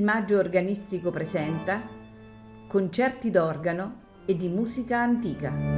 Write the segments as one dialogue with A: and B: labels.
A: Il Maggio Organistico presenta concerti d'organo e di musica antica.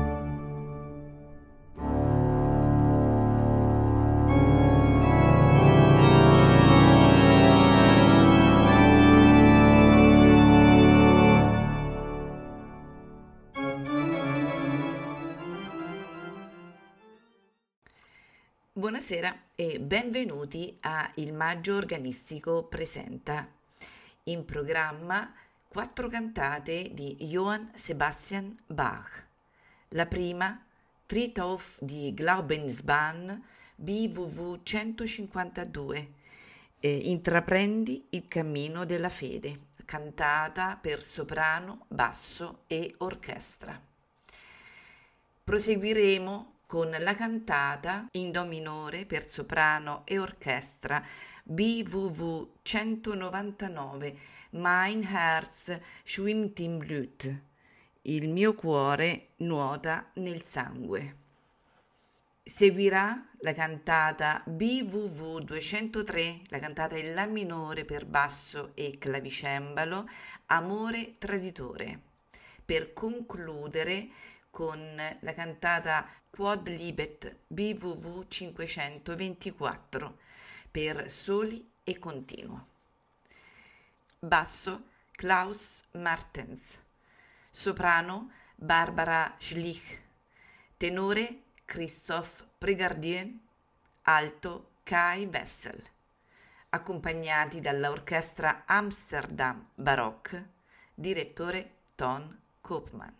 B: Buonasera e benvenuti a Il Maggio Organistico presenta. In programma 4 cantate di Johann Sebastian Bach. La prima, Tritthof di Glaubensbahn, BWV 152. Intraprendi il cammino della fede, cantata per soprano, basso e orchestra. Proseguiremo con la cantata in do minore per soprano e orchestra BWV 199 Mein Herz schwimmt im Blut, il mio cuore nuota nel sangue. Seguirà la cantata BWV 203, la cantata in la minore per basso e clavicembalo, Amore traditore, per concludere con la cantata Quodlibet BWV 524 per soli e continuo. Basso Klaus Martens, soprano Barbara Schlich, tenore Christophe Prégardien, alto Kai Wessel, accompagnati dall'orchestra Amsterdam Baroque, direttore Ton Koopman.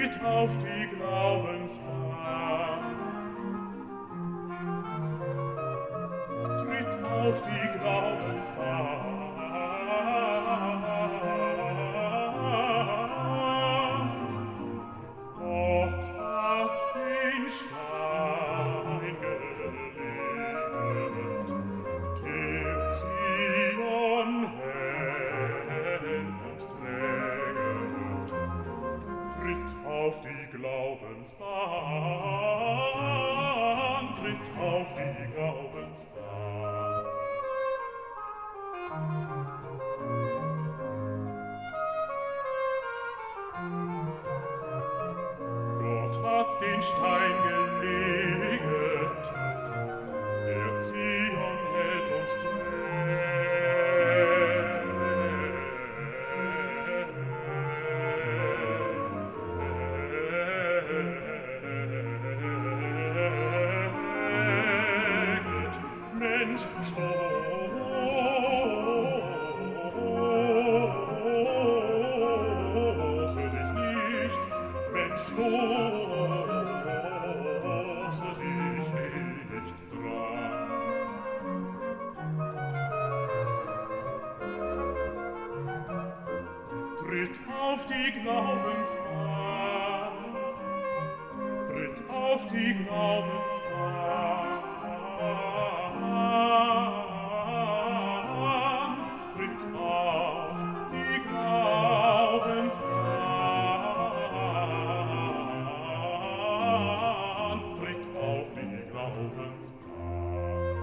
C: tritt auf die Glaubensbahn. Tritt auf die Glaubensbahn. Gott hat den Stein gelegt, der Zion hält und trägt. Tritt auf die Glaubensbahn, tritt auf die Glaubensbahn. Gott hat den Stein gelegt, der Zion hält und trägt. Mensch, stoße dich nicht, Mensch, stoße dich nicht dran. Tritt auf die Glaubensbahn, tritt auf die Glaubensbahn, tritt auf die Glaubensbahn, tritt auf die Glaubensbahn.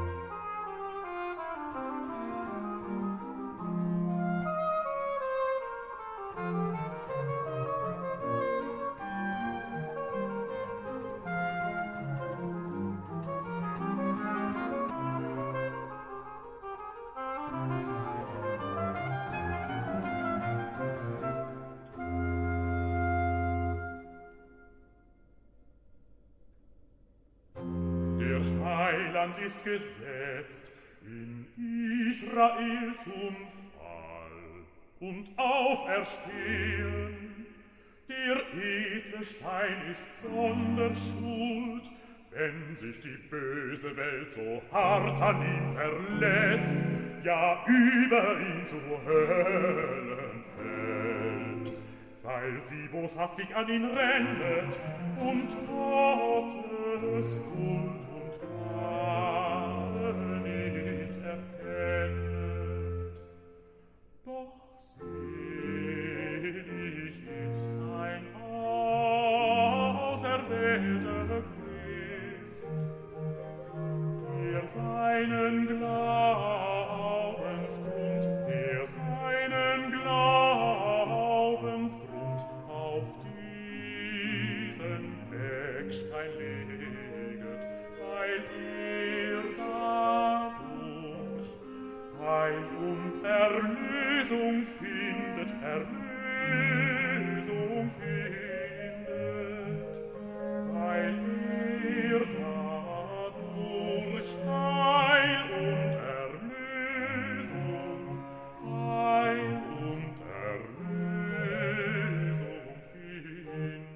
C: Der Heiland ist gesetzt in Israel zum Fall und Auferstehen. Der edle Stein ist Sonderschuld, wenn sich die böse Welt so hart an ihm verletzt, ja über ihn zu Höllen fällt, weil sie boshaftig an ihn rennet und Gottes Huld und Gnade nicht erkennet. Doch selig ist ein auserwählter Christ, der seinen Glaubensgrund, auf diesen Eckstein leget, weil dadurch Heil und Erlösung findet, weil dadurch Heil und Erlösung findet.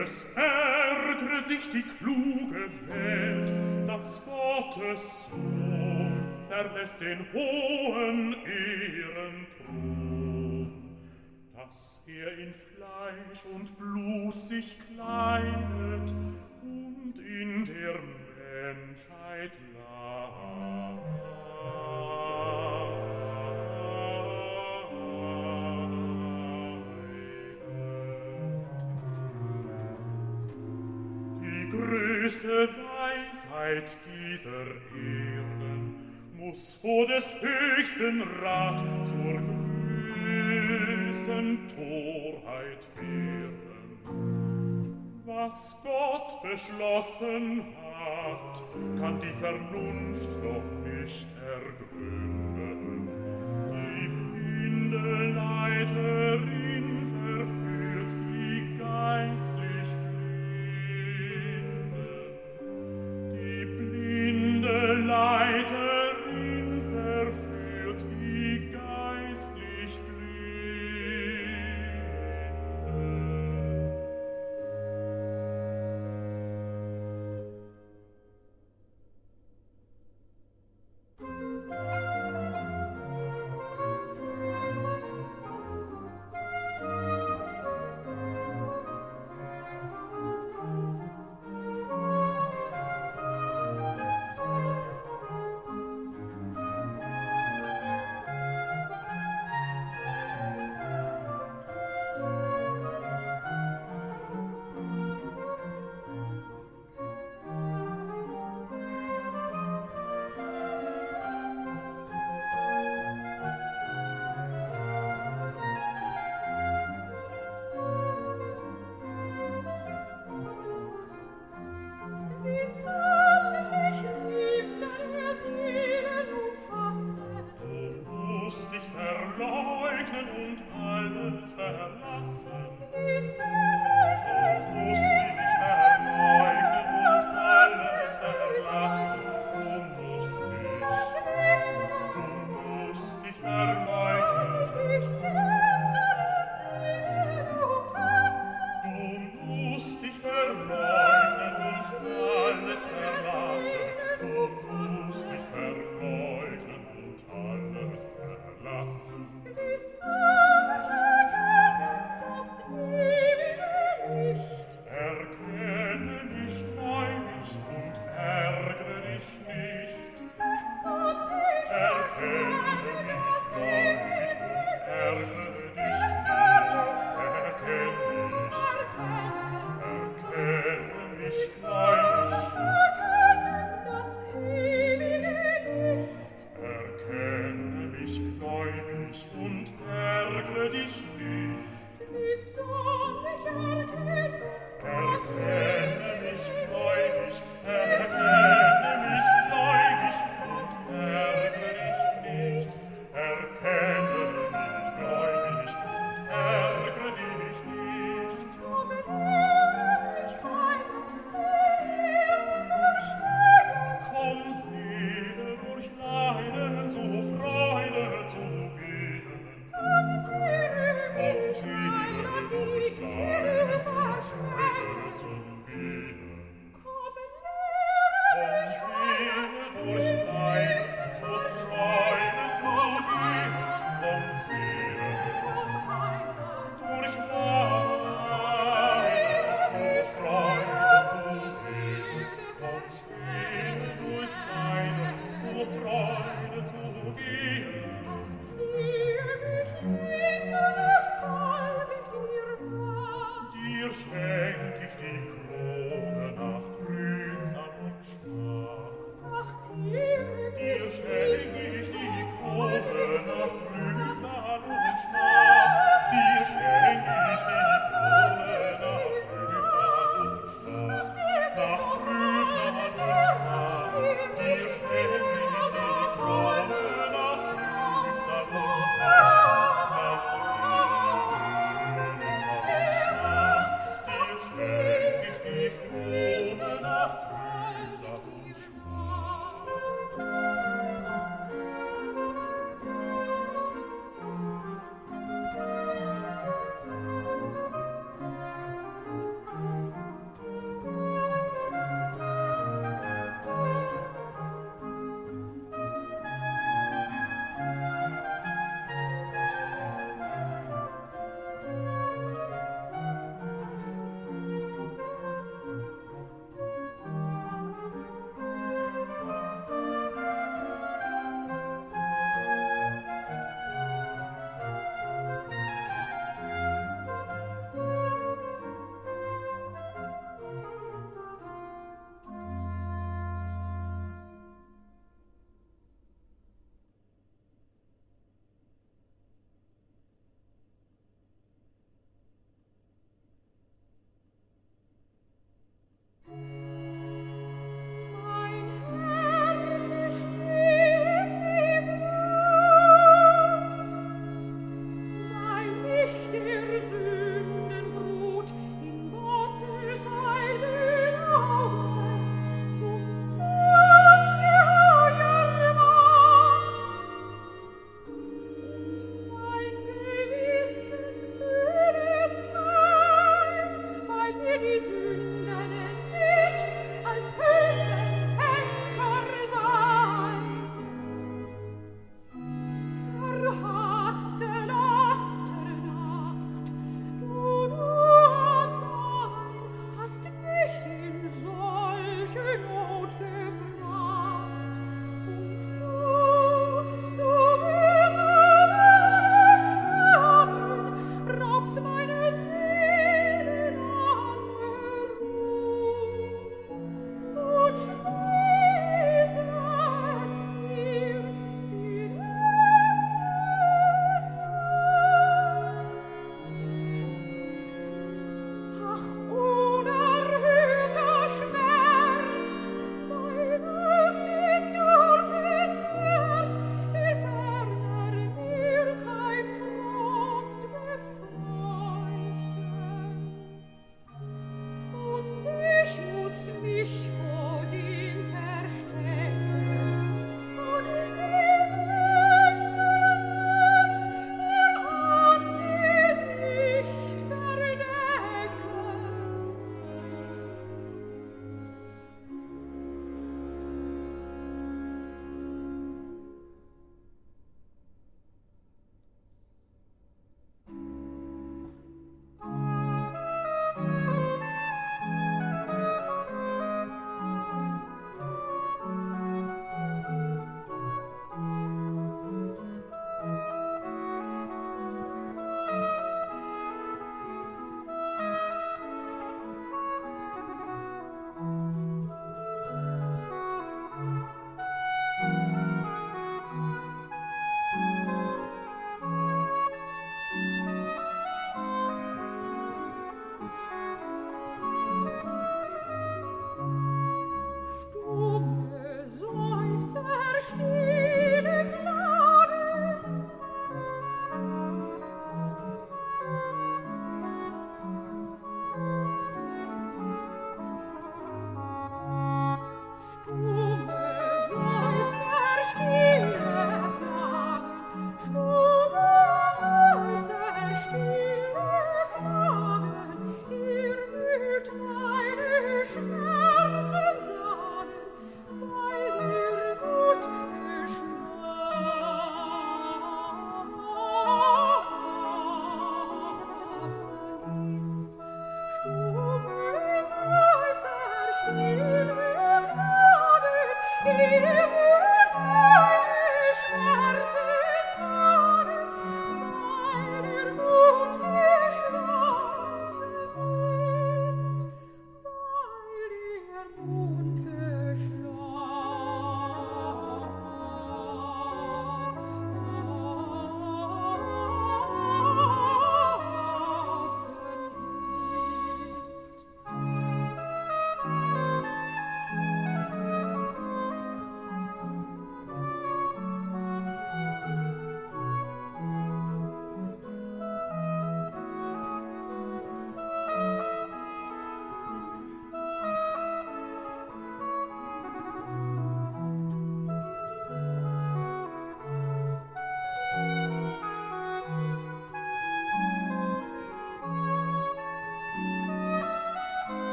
C: Es ärgert sich die kluge Welt, dass Gottes Sohn verlässt den hohen Ehrenthron, dass in Fleisch und Blut sich kleidet und in der Menschheit leidet. Die größte Weisheit dieser Erden muss vor des höchsten Rat zur größten Torheit werden. Was Gott beschlossen hat, kann die Vernunft noch nicht ergründen. Die blinde Leiterin verführt die geistlich Blinden. Die blinde Leiterin verführt die geistlich Blinden.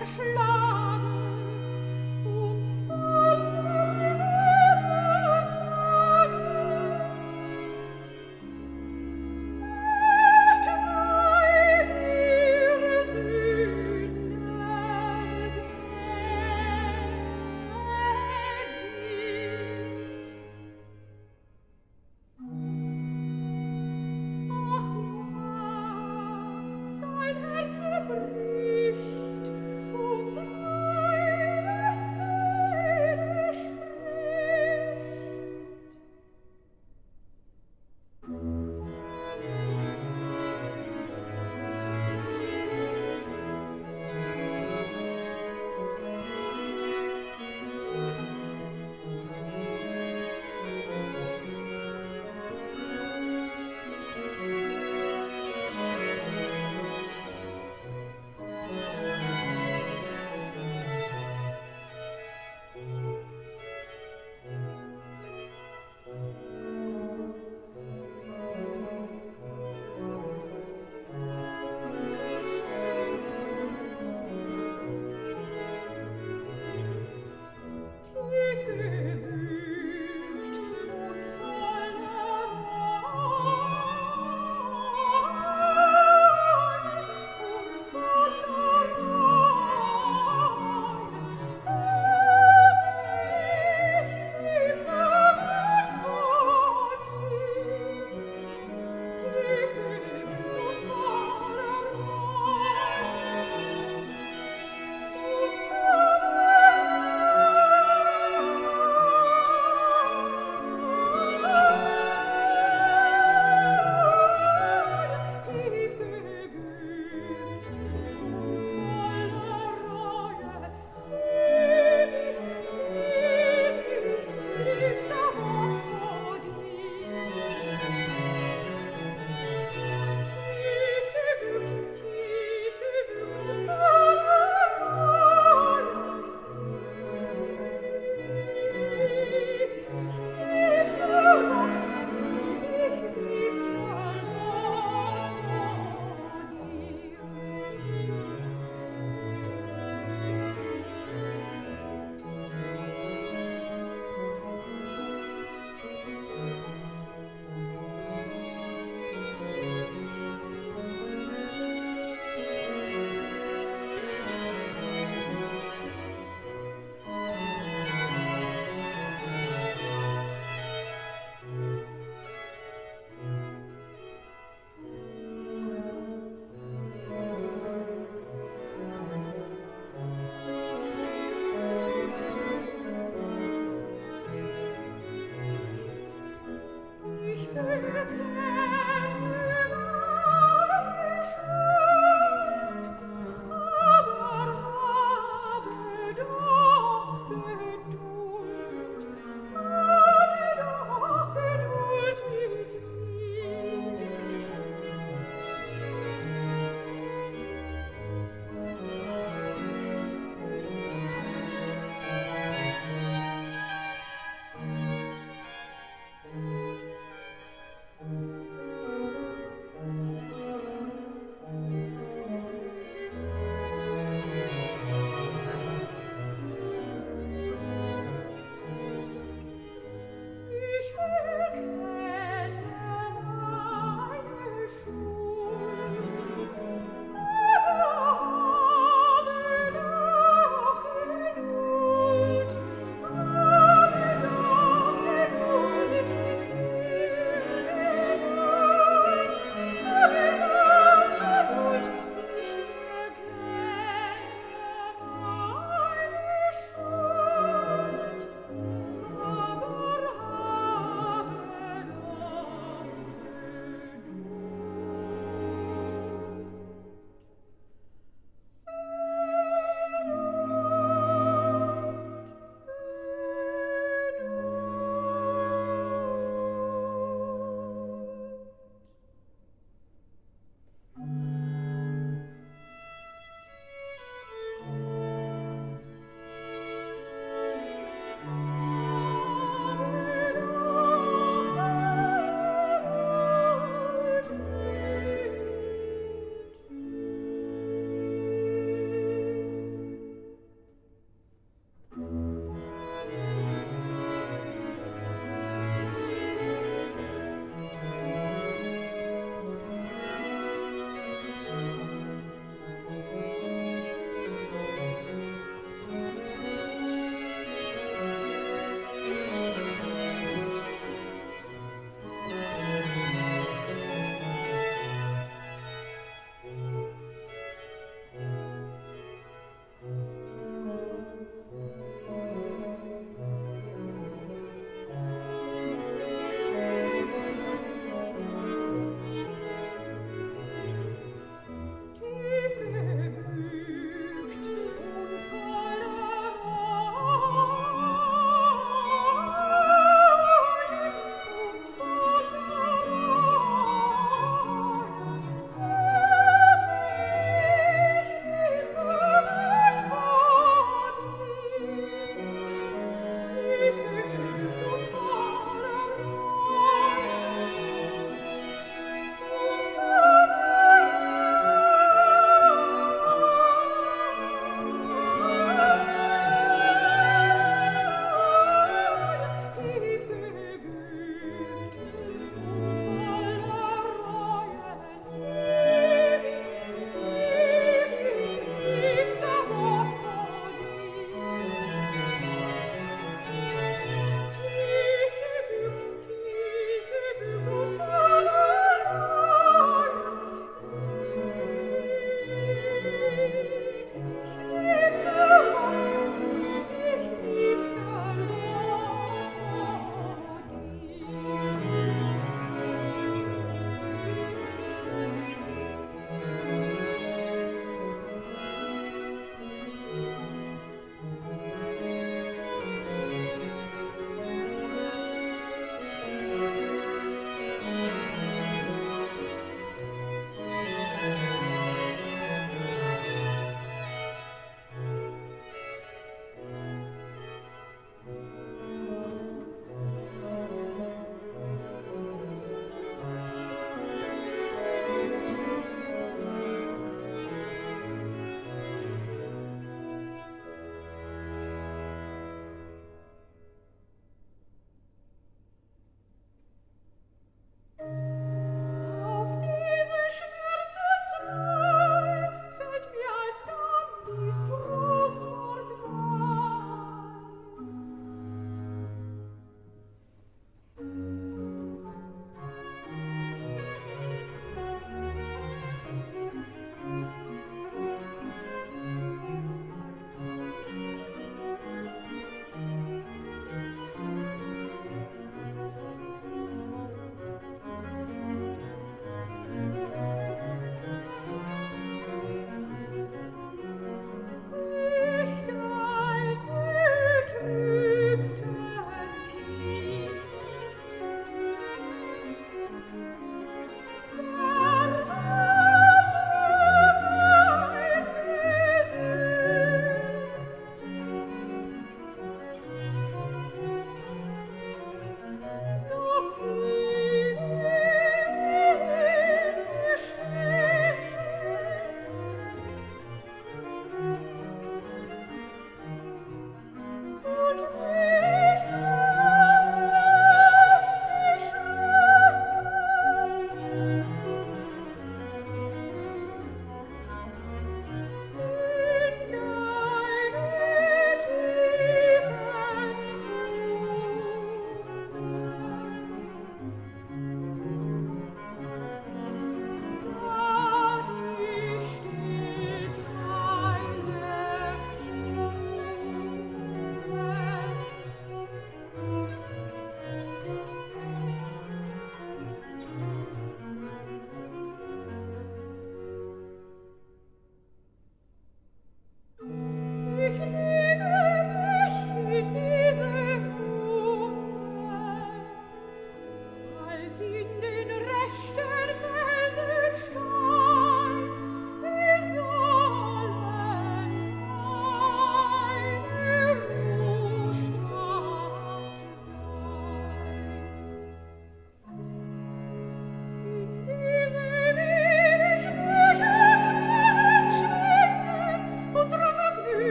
D: Sein Herz zerbricht und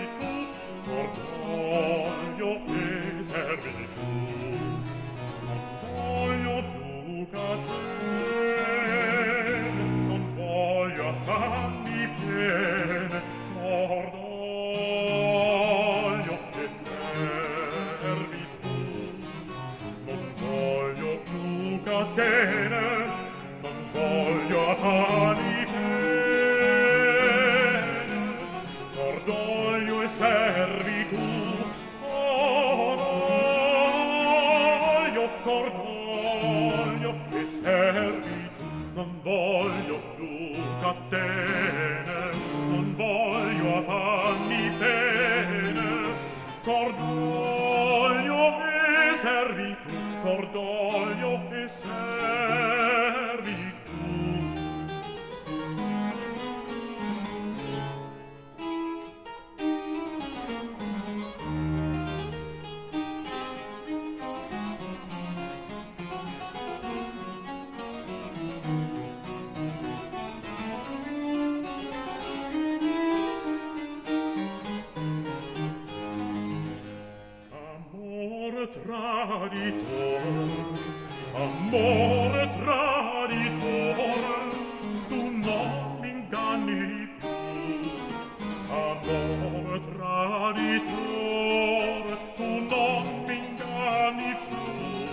C: servitù, orgoglio e servitù. Non voglio più catene, non voglio affanni piene, orgoglio e servitù. Non voglio più catene, non voglio affanni piene, orgoglio e servitù. Orgoglio e servitù. Non voglio più catene, non voglio affanni pene, orgoglio e servitù, orgoglio e servitù. Amore traditore, tu non mi inganni più. Amore traditore, tu non mi inganni più.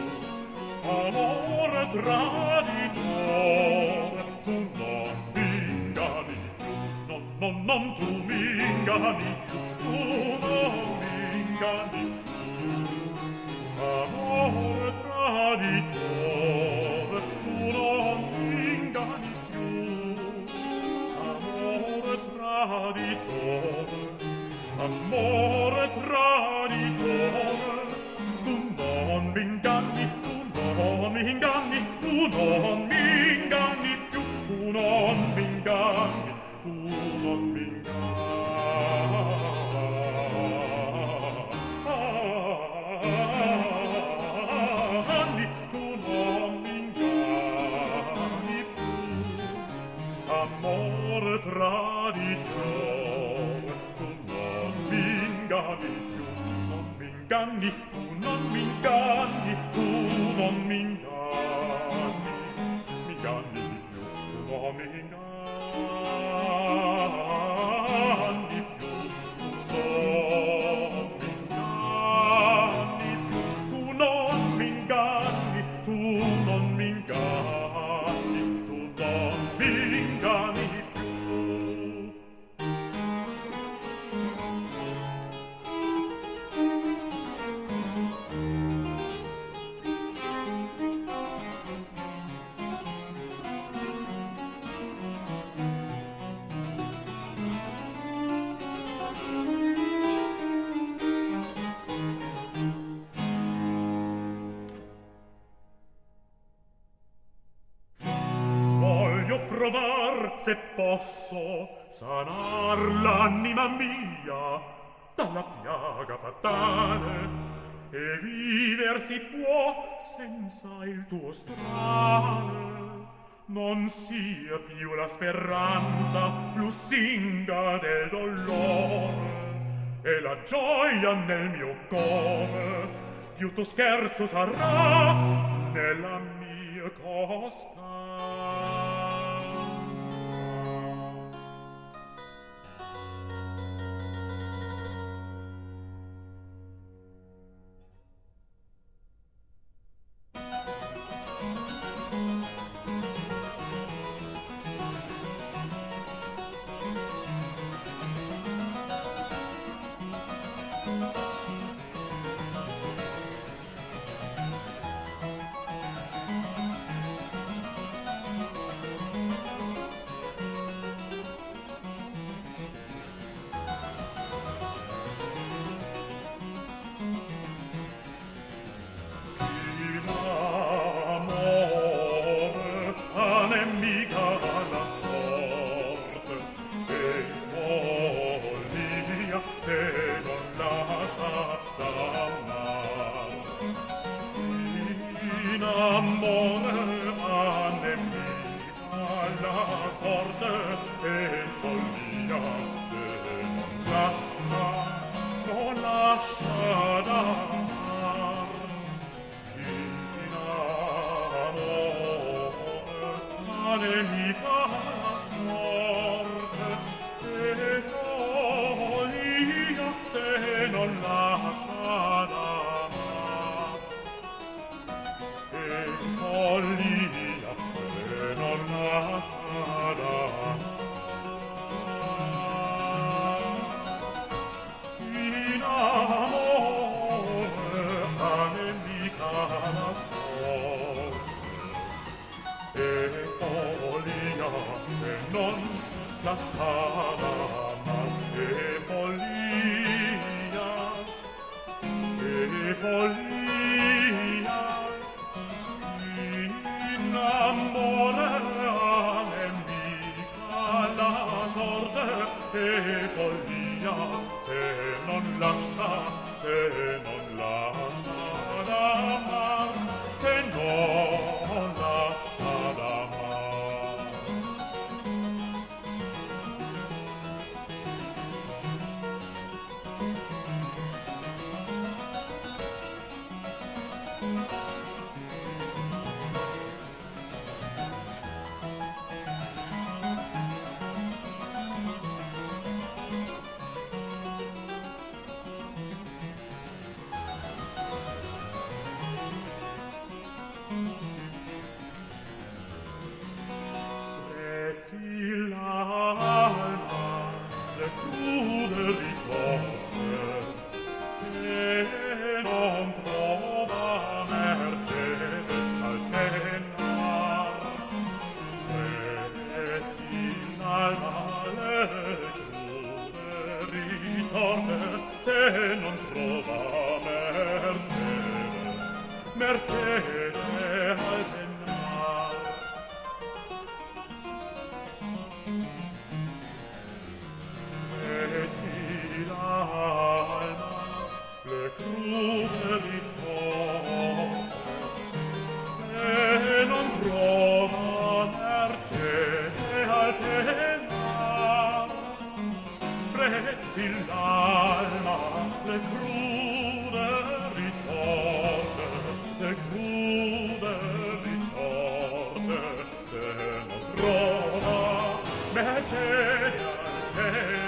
C: Amore traditore, tu non mi inganni più. Non tu mi inganni più, tu non mi inganni più. Amore traditore, tu non mi inganni più. Amore traditore, amore traditore, tu non mi inganni, tu non mi inganni, tu non mi inganni più, tu non mi inganni, tu non mi inganni. Traditore, tu non mi inganni più, non mi inganni, tu non mi inganni, tu non mi inganni, mi inganni più, tu non mi inganni più, tu non mi inganni più, tu non mi inganni, tu non mi inganni, tu non mi inganni. Se posso sanar l'anima mia dalla piaga fatale e viver si può senza il tuo strale, non sia più la speranza lusinga del dolore e la gioia nel mio cuore più tu scherzo sarà nella mia costanza. sorte e follia se non la lascia d'amar in amore ma nemica la sorte e follia se non lascia d'amar e follia se non lascia d'amar in amore a nemica la sorte e follia se non lascia d'amar e follia in amore a nemica la sorte e follia se non lascia d'amar se non lascia d'amar sprezzi l'alma le crude risorse se non prova mercede al penar sprezzi l'alma le crude risorse se non prova mercede al penar sprezzi l'alma le crude ritorte se non prova mercede al penar sprezzi l'alma le crude ritorte se non trova mercede al penar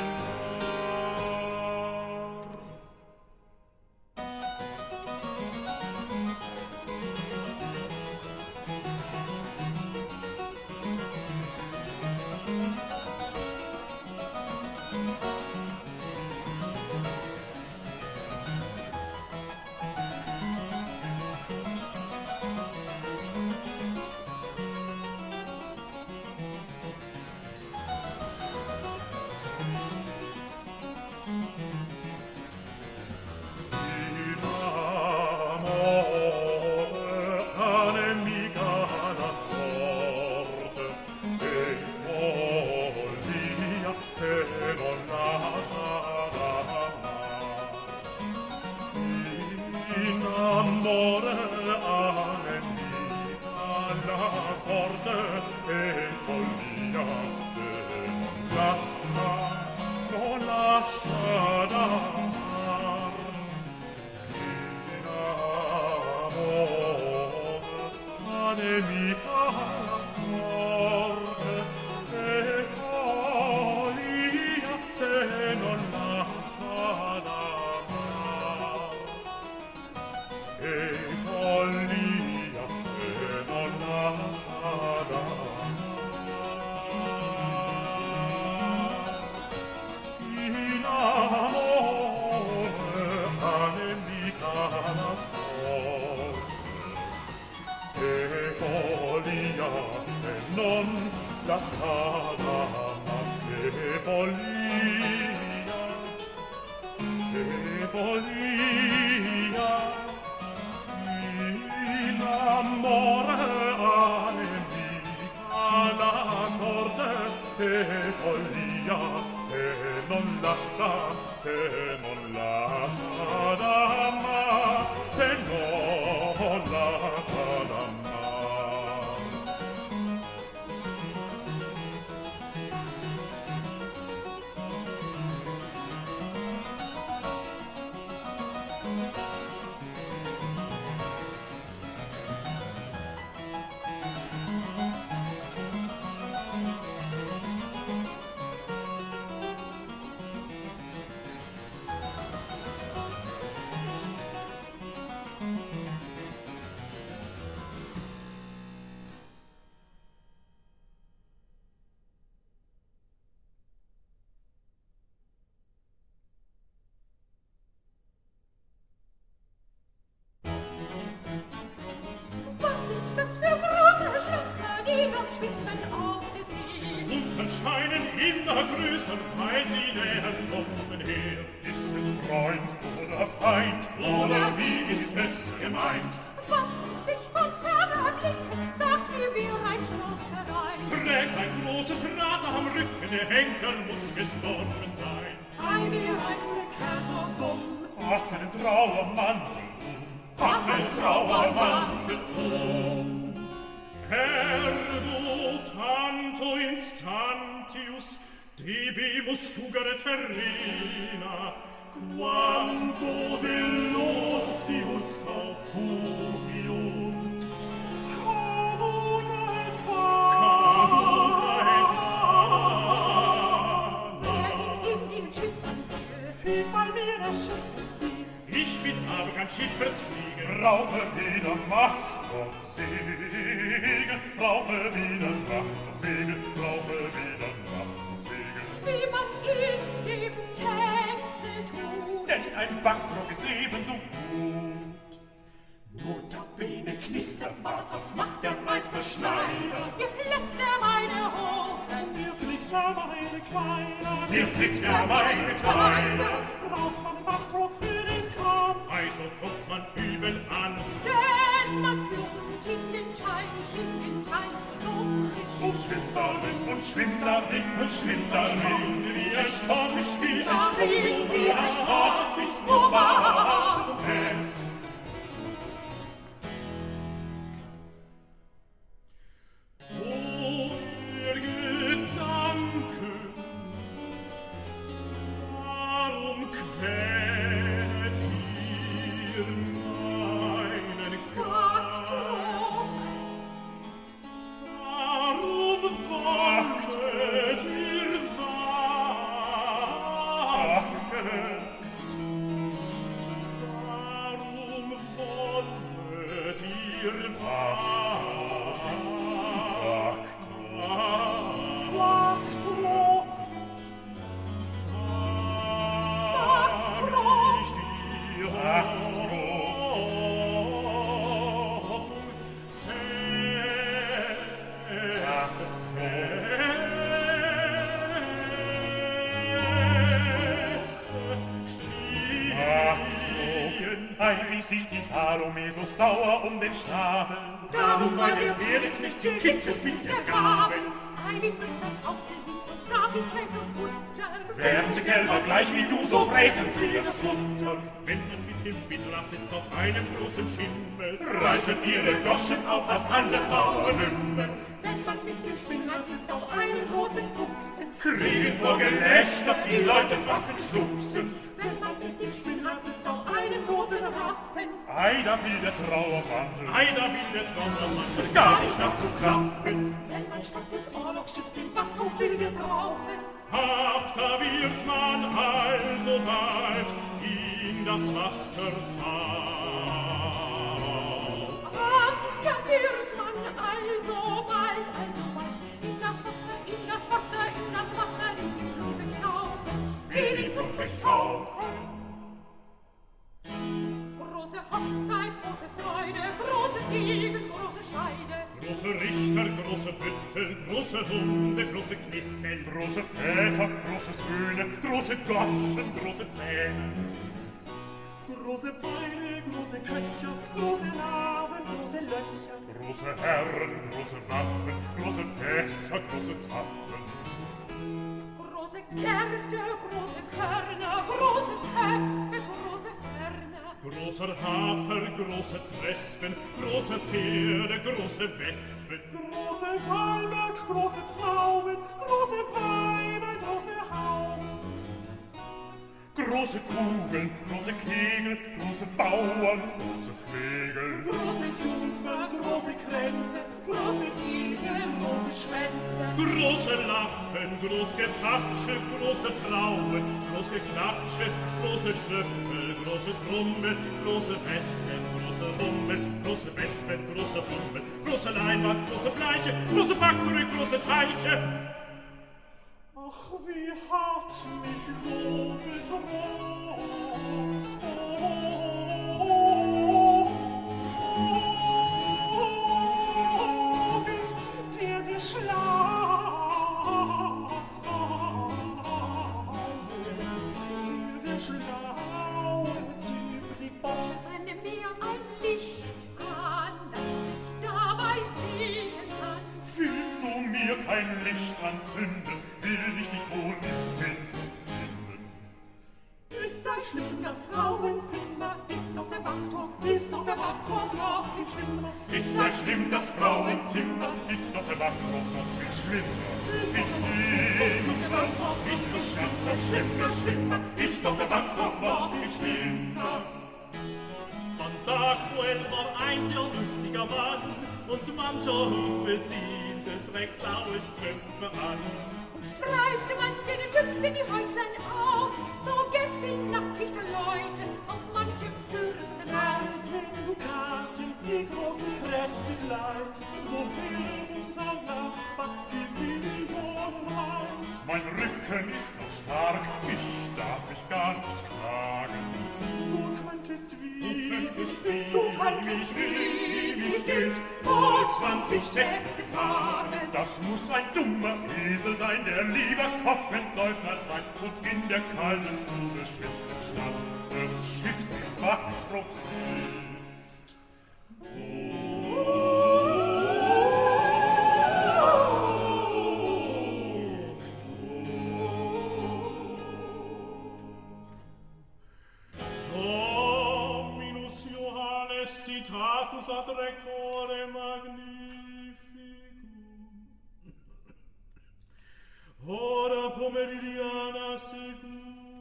C: Meister, weil sie näher kommen her. Ist es Freund oder Feind, oder wie ist es gemeint?
D: Was muss sich von ferner blicken, sagt mir, wie rein Schnurrt herein.
C: Trägt ein großes Rad am Rücken, der Henker muss gestorben sein.
D: Ei, wie heißt der Kerl so dumm?
C: Hat einen Trauermantel hat einen Trauermantel Herr, du tanto instantius, debimus fugere terrena, quanto velocius auf fugiunt. Cavuna et
D: Wer in dem Schiffen
C: fiel bei mir das Schiff. Ich bin aber kein Schiffesflieger, brauche wieder Mast und Segel, brauche wieder Mast und Segel, brauche wieder Mast und Segel.
D: wie man in dem Texte tut.
C: Denn ein Backdruck ist ebenso gut. Notabene Knisterbart, was macht der Meister Schneider?
D: Hier flitzt meine Hosen,
C: Hier flickt meine Kleider, hier flickt meine Kleider.
D: braucht man Backdruck für den Kram.
C: Also kommt man übel an,
D: Denn man plumpt in den Teich, so frisch.
C: und Schwindlerin, und Schwindlerin, und Schwindlerin, wie ein Storfisch, wie ein Storfisch, wie ein Storfisch, wo war es? O, ihr Gedanken, warum quält ihr meinen Geist? Warum wartet ihr wachen? Warum wollet ihr wachen? Wie sieht die Salome so sauer um den Schnabel?
D: Darum war der Pferdeknecht sie kitzelt mit der Gabel. Ei, wie frisch das aufgelegt und darf ich kein so Butter.
C: Werden sie gelber gleich wie du, so fräsen sie das Futter. Wenn man mit dem Spinnrad sitzt auf einem großen Schimmel, reißen ihre Goschen auf fast alle Bauernhümmel.
D: Wenn man mit dem Spinnrad sitzt auf einem großen Fuchsen,
C: Kriegen vor Gelächter, die Leute fassen schubsen.
D: wenn man mit dem Spinnrad sitzt auf einem großen Rappen,
C: Ei, da will der Trauermantel, ei, da will der Trauermantel gar nicht abzuklappen.
D: wenn man statt des Orlogsschiffs den Backdruck will gebrauchen,
C: Ach, da wird man alsobald in das Wasser tauchen.
D: ach, da wird man alsobald in das Wasser, in das Wasser, in das Wasser, in die Blumen tauchen,
C: Wie die Ruprecht tauchen.
D: Große Hochzeit, große Freude, große Gegend, große Scheide.
C: Große Richter, große Büttel, große Hunde, große Knittel, große Väter, große Söhne, große Goschen, große Zähne. Große Beine, große Köcher, große Nasen, große Löcher. Große Herren, große Waffen, große Fässer, große Zappen.
D: Große Gerste, große Körner, große Köpfe, große Hörner.
C: Großer Hafer, große Trespen, große Pferde, große Wespen. Große Palme, große Trauben, große Weiber, große Hauben. Große Kugeln, große Kegel, große Bauern, große Flegel.
D: Große Jungfer, große Kränze, große Igel, große Schwänze.
C: Große Lachen, groß Gepatsche, große Frauen, große Knatsche, große Knöpfel, große Trommel, große Wespen, große Rummel, große Wespen, große Rummel, große Leinwand, große Fleiche, große Faktorie, große Teiche. Ach, wie hat mich so betrogen, der sie schlagen.
D: das Frauenzimmer, ist doch der Backtrog noch viel schlimmer.
C: Ist das schlimm, das Frauenzimmer, ist doch der Backtrog noch viel schlimmer. Viel schlimmer, ist so schlimmer, ist doch der Backtrog noch viel schlimmer.
E: Von Dachwell war ein sehr lustiger Mann und mancher Hofbediente trägt blaue Strümpfe an.
D: Und streifte man den Füchs in die Häuslein auf, so gefiel nackig der Leute auf manchem Fürstenhaus.
E: Dukaten, die großen Krätzelein, so viel unser Nachbar, die Millionen rein.
C: Mein Rücken ist noch stark, ich darf mich gar nicht klagen.
E: Du könntest wie
C: mich gilt, vor 20 Säcke tragen. Das muss ein dummer Esel sein, der lieber kochend säuft als Wein und in der kalten Stube schwitzt anstatt des Schiffs im Backtrog sitzt.
E: Citatus ad rectore magnificum. Ora pomeridiana secunda.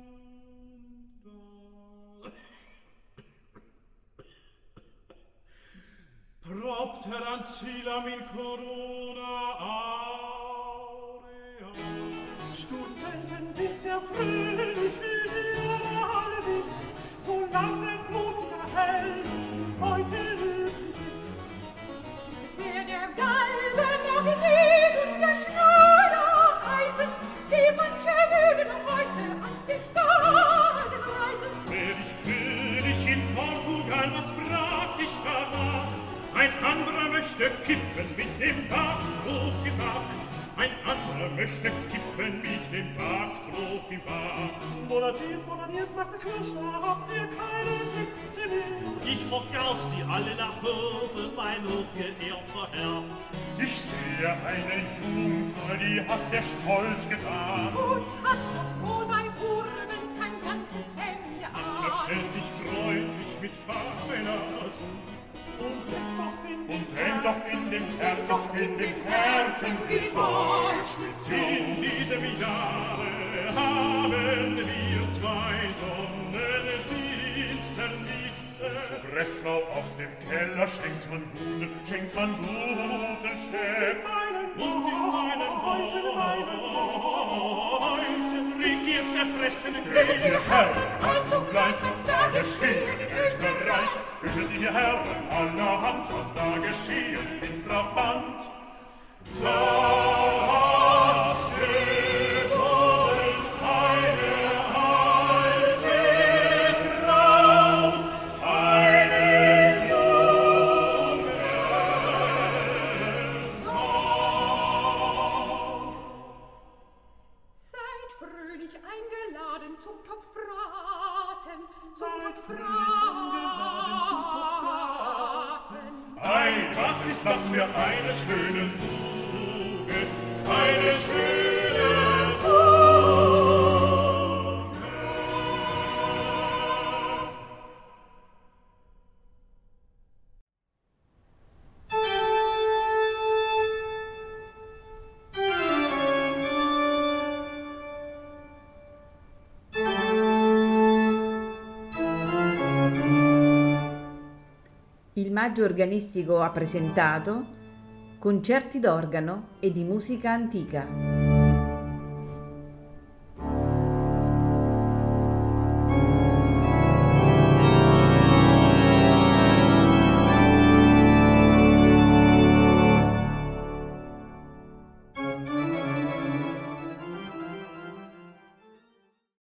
E: Propter ancilam in corona aurea.
D: Studenten sind sehr fröhlich, wie ihr alle wisst, solange blutiger Held heute löblich ist. Wer der Galgen Magnet und der Schneider Eisen, die manche würden heute an den Wagen reisen.
C: Wär ich König in Portugal, was frag ich danach? Ein anderer möchte kippen mit dem Backtrog im Bach. Ein anderer möchte kippen mit dem Backtrog im Bach.
E: Bonadies, macht der Kirschner, habt ihr keine Füchse mehr? Ich verkauf sie alle nach Höfe, mein hochgeehrter Herr.
C: Ich sehe eine Jungfrau, die hat sehr stolz getan.
D: Und hat doch wohl bei Urbens kein ganzes Hemd
C: Mancher
D: an.
C: stellt sich freundlich mit Fachmänner zu. Und hängt doch in dem Herzen die Deutschwitz. In diesem Jahre haben wir zwei Sonnenfinsternisse. Zu Breslau auf dem Keller schenkt man guten Schätz. Und in meinem heute regiert der fressende König. Und zugleich, was da geschehen in Österreich, hört ihr Herren allerhand, was da geschehen in Brabant. Lasst ihr wollen eine alte Frau, eine junge Sau.
D: Seid fröhlich eingeladen zum Topfbraten,
C: Ei, was ist das für eine schöne Fuge, eine schöne Fuge.
A: Il Maggio Organistico ha presentato Concerti d'organo e di musica antica.